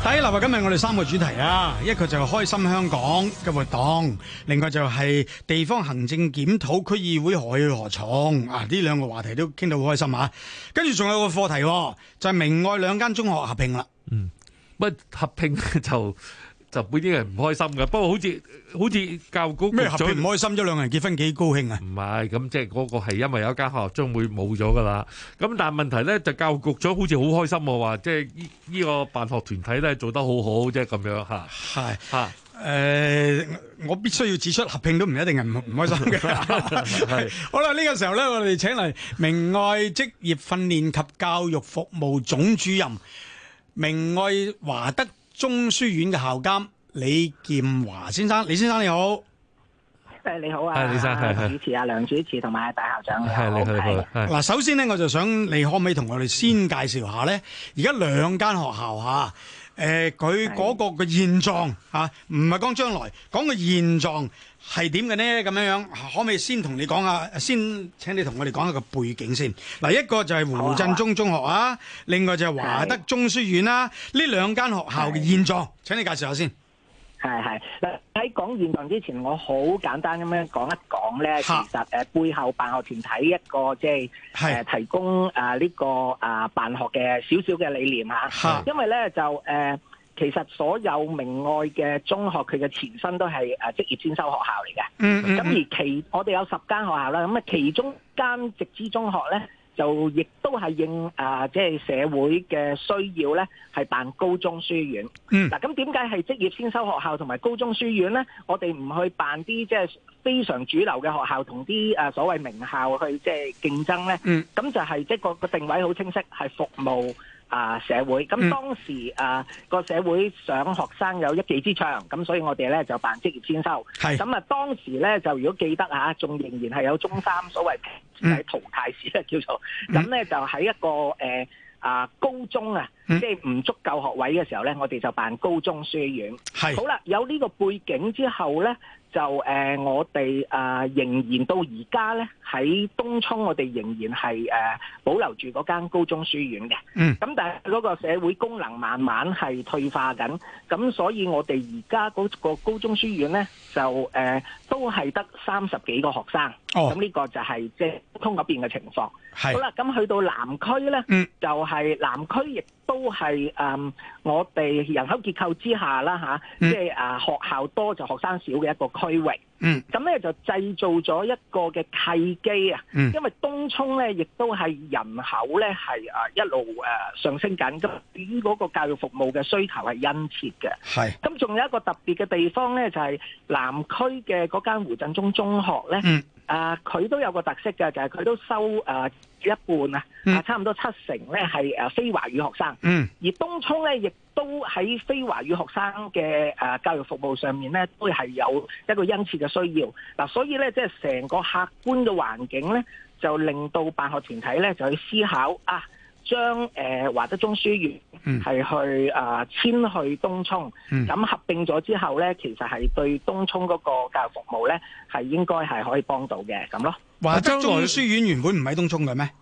嗱，今日我哋3個主題啊，一個就係開心香港嘅活動，另外就係地方行政檢討區議會何去何從啊，呢2個話題都傾到好開心啊。跟住仲有個課題，就係明愛2間中學合併啦。 乜合併就本啲人唔開心嘅，不過好似教育局咩合併唔開心咗，2個人結婚幾高興啊？ 唔係，咁即係嗰個係因為有一間學校將會冇咗噶啦。咁但係問題咧，就教育局長好似好開心喎，話即係呢個辦學團體咧做得好好，即係咁樣嚇。 係嚇。我必須要指出，合併都唔一定係唔開心嘅。係好啦，呢個時候咧，我哋請嚟明愛職業訓練及教育服務總主任、明愛華德中書院嘅校監李劍華先生。李先生你好。 你好啊， 李生， 主持啊，梁主持同埋大校長你好。 嗱，首先咧，我就想你可唔可以同我哋先介紹下咧？而家2間學校嚇。佢嗰個嘅現狀嚇，唔係講將來，講個現狀係點嘅呢？咁樣可唔可以先同你講下？先請你同我哋講一個背景先。嗱，一個就係胡振中中學啊，另外就係華德中書院啦。呢2間學校嘅現狀，請你介紹下先。 係嗱，喺講現狀之前，我好簡單咁樣講一講咧。其實背後辦學團體一個即係提供呢個辦學嘅少少嘅理念嚇。因為咧就其實所有明愛嘅中學，佢嘅前身都係職業先修學校嚟嘅。咁而我哋有10間學校啦，咁啊其中間直資中學咧，就亦都係應即係社會嘅需要咧，係辦高中書院。嗱，咁點解係職業先修學校同埋高中書院咧？我哋唔去辦啲即係非常主流嘅學校，同啲所謂名校去即係競爭咧？咁就係即係個定位好清晰，係服務社會。咁當時個社會想學生有一技之長，咁所以我哋咧就辦職業先修。咁啊，當時咧就如果記得仲仍然係有中3所謂係淘汰試咧叫做，咁咧就喺一個高中即係唔足夠學位嘅時候咧，我哋就辦高中書院。好啦，有呢個背景之後咧，就我哋仍然到而家咧喺東涌，我哋仍然係保留住嗰間高中書院嘅。咁但係嗰個社會功能慢慢係退化緊，咁所以我哋而家嗰個高中書院咧就都係得30幾個學生。咁呢個就係即係東涌嗰邊嘅情況。好啦，咁去到南區咧，就係南區亦都係我哋人口結構之下啦即係學校多就學生少嘅一個區域。咁咧就製造咗一個嘅契機啊。因為東涌咧亦都係人口咧係一路上升緊，咁對於嗰個教育服務嘅需求係殷切嘅。咁仲有一個特別嘅地方咧，就係南區嘅嗰間胡振中中學咧。佢都有個特色嘅，就係佢都收一半差唔多70%咧係非華語學生。而東涌咧亦都喺非華語學生嘅教育服務上面咧，都係有一個殷切嘅需要。嗱，所以咧即係成個客觀嘅環境咧，就令到辦學團體咧就去思考將華德中書院係去遷去東涌，咁合併咗之後咧，其實係對東涌嗰個教育服務咧係應該係可以幫到嘅咁咯。 華德中書院原本唔喺東涌嘅咩？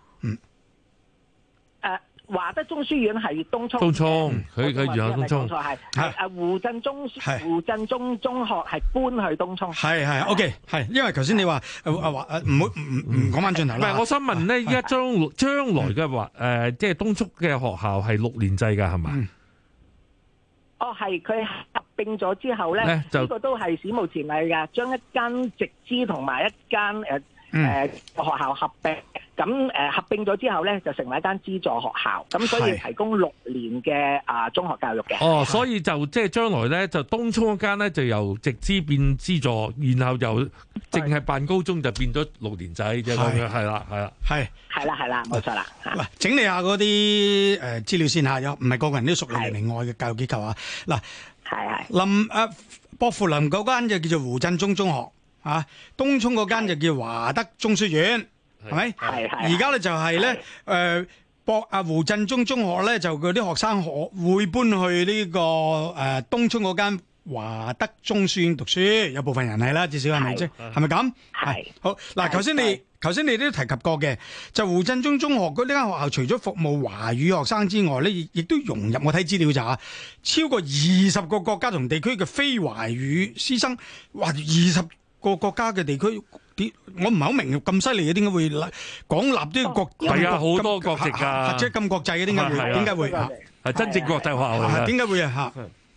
華德中書院係東涌， 佢原有東涌， 係胡振中中學係搬去東涌， 係 OK 係，因為頭先你話唔講翻轉頭啦。 唔係，我想問咧，依家將來嘅話即係東涌嘅學校係6年制㗎，係嘛？ 係佢合併咗之後咧，呢個都係史無前例㗎，將一間直資同埋一間學校合併。咁合併咗之後咧，就成為一間資助學校，咁所以提供6年嘅中學教育嘅。 所以就即係將來咧，就東涌嗰間咧就由直資變資助，然後又淨係辦高中就變咗6年制啫咁樣，係啦， 冇錯啦。 嗱，整理下嗰啲資料先嚇，唔係個個人都屬於明愛嘅教育機構啊。嗱，薄扶林嗰間就叫做胡振中中學東涌嗰間就叫華德中書院。係咪？而家咧就係咧，胡振中中學咧就嗰啲學生會搬去呢個東涌嗰間華德中書院讀書，有部分人係啦，至少係咪啫？係咪咁？係好嗱，頭先你都提及過嘅，就胡振中中學嗰呢間學校，除咗服務華語學生之外咧，亦都融入我睇資料就超過20個國家同地區嘅非華語師生，哇！20個國家嘅地區。我唔係好明咁犀利嘅，點解會廣立啲國？ 係啊，好多國籍㗎， 即係咁國際嘅，點解會？點解會？ 係真正國際學校嚟嘅。 點解會啊？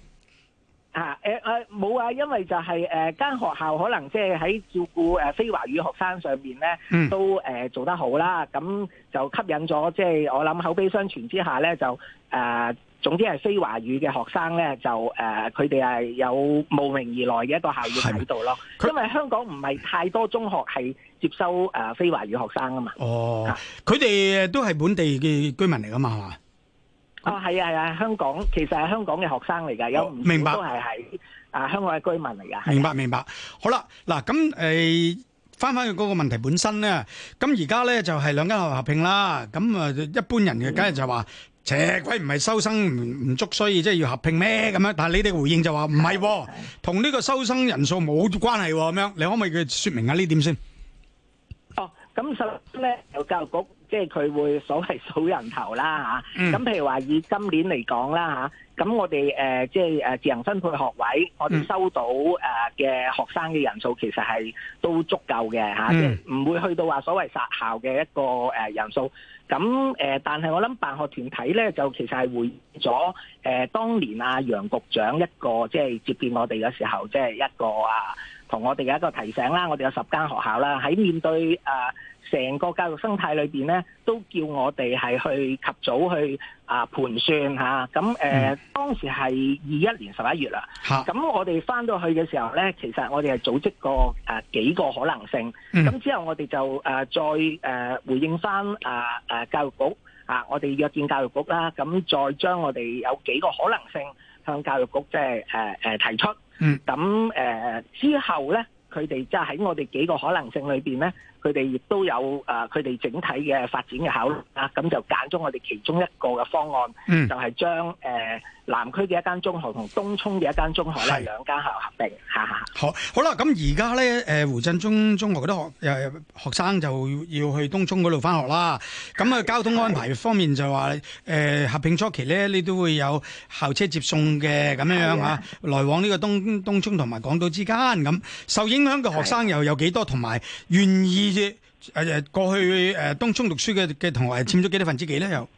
冇啊，因為就係間學校可能即係喺照顧非華語學生上面咧，都做得好啦，咁就吸引咗即係我諗口碑相傳之下咧，就總之係非華語嘅學生咧，就佢哋係有慕名而來嘅一個校園喺度咯。因為香港唔係太多中學係接收非華語學生啊嘛。哦， 佢哋都係本地嘅居民嚟噶嘛，係嘛？ 係啊，香港其實係香港嘅學生嚟㗎，有唔少都係喺香港嘅居民嚟㗎。 明白。好啦，嗱咁翻去嗰個問題本身咧，咁而家咧就係兩間學校合併啦。咁一般人嘅梗係就話。邪鬼唔係收生唔足，所以即係要合併咩咁樣？但係你哋回應就話唔係，同呢個收生人數冇關係咁樣。你可唔可以説明下呢點先？ 咁首先咧，有教育局即係佢會所謂數人頭啦嚇。咁譬如話以今年嚟講啦嚇，咁我哋即係自行分配學位，我哋收到嘅學生嘅人數其實係都足夠嘅嚇，即係唔會去到話所謂殺校嘅一個人數。咁但係我諗辦學團體咧，就其實係回應咗當年楊局長一個即係接見我哋嘅時候，即係一個同我哋嘅一個提醒啦。我哋有10間學校啦，喺面對成個教育生態裏邊咧，都叫我哋係去及早去盤算嚇。咁當時係21年11月啦。咁我哋翻到去嘅時候咧，其實我哋係組織過幾個可能性。咁之後我哋就再回應翻教育局我哋約見教育局啦。咁再將我哋有幾個可能性向教育局即係提出。咁之後咧，佢哋即係喺我哋幾個可能性裏邊咧，佢哋亦都有佢哋整體嘅發展嘅考慮啦。咁就揀咗我哋其中一個嘅方案，就係將南區嘅一間中學同東涌嘅一間中學咧兩間學校合併。 好啦，咁而家咧胡振中中學嗰啲學生就要去東涌嗰度翻學啦。咁交通安排方面就話合併初期咧，你都會有校車接送嘅咁樣嚇，來往呢個東涌同埋港島之間。咁受影響嘅學生又有幾多？同埋願意過去東涌讀書嘅同學佔咗幾多分之幾咧？又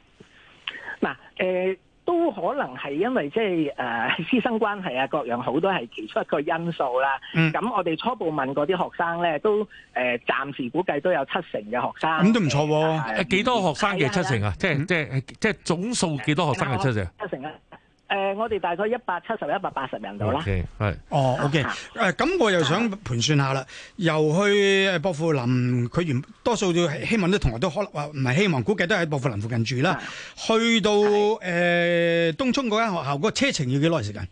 都可能係因為即係師生關係各樣好多係其中一個因素啦。咁我哋初步問過啲學生咧，都暫時估計都有70%嘅學生。 咁都唔錯喎。 幾多學生嘅70%啊？即係總數幾多學生嘅70%？70%啊。 我哋大概170、180人度啦。 係。 OK。咁我又想盤算下啦。由去薄扶林，佢多數都希望啲同學都可能話唔係希望，估計都喺薄扶林附近住啦。去到東涌嗰間學校，個車程要幾耐時間？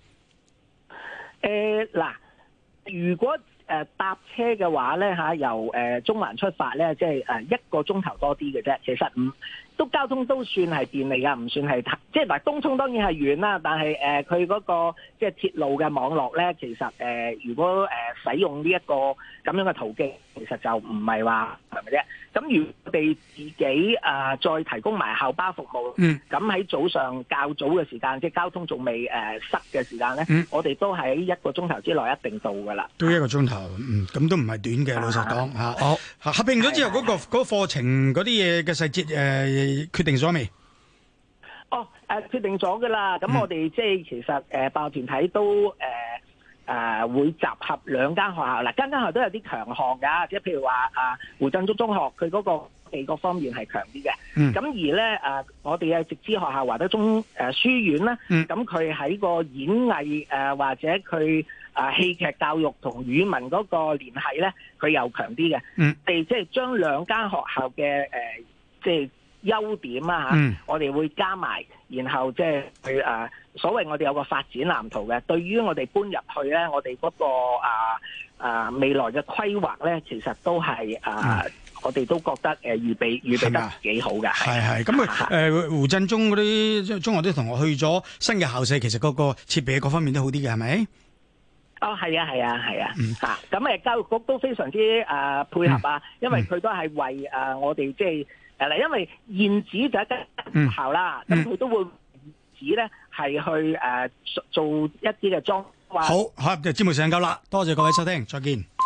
如果搭車嘅話咧由中環出發咧，即係1個鐘頭多啲嘅啫。其實都交通都算係便利㗎，唔算係即係東涌當然係遠啦，但係佢嗰個即係鐵路嘅網絡咧，其實如果使用呢一個咁樣嘅途徑，其實就唔係話係咪啫？咁如果我哋自己再提供埋校巴服務，咁喺早上較早嘅時間，即係交通仲未塞嘅時間咧，我哋都喺1個鐘頭之內一定到㗎啦。 都1個鐘頭，咁都唔係短嘅，老實講嚇。好，合併咗之後，嗰個課程嗰啲嘢嘅細節決定咗未？ 決定咗㗎啦。咁我哋即係其實辦學團體都會集合2間學校啦，間學校都有啲強項㗎，即係譬如話胡振中中學，佢嗰個地各方面係強啲嘅。咁而咧我哋嘅直資學校華德中書院咧，咁佢喺個演藝或者佢戲劇教育同語文嗰個聯繫咧，佢又強啲嘅。哋即係將2間學校嘅即係優點我哋會加埋，然後即係去所謂我哋有個發展藍圖嘅。對於我哋搬入去咧，我哋嗰個未來嘅規劃咧，其實都係我哋都覺得預備得幾好嘅。 係咁胡振中嗰啲中學啲同學去咗新嘅校舍，其實嗰個設備各方面都好啲嘅，係咪？ 哦，係啊，嚇！咁教育局都非常之配合啊，因為佢都係為我哋即係嗱，因為現址就一間學校啦，咁佢都會指咧係去做一啲嘅裝。 好，今日節目時間夠啦，多謝各位收聽，再見。